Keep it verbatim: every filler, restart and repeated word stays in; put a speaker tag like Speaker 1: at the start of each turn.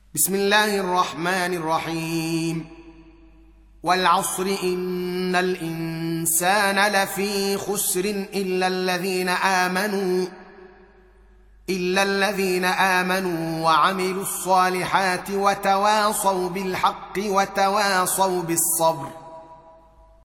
Speaker 1: بسم الله الرحمن الرحيم. والعصر إن الإنسان لفي خسر إلا الذين آمنوا إلا الذين آمنوا وعملوا الصالحات وتواصوا بالحق وتواصوا بالصبر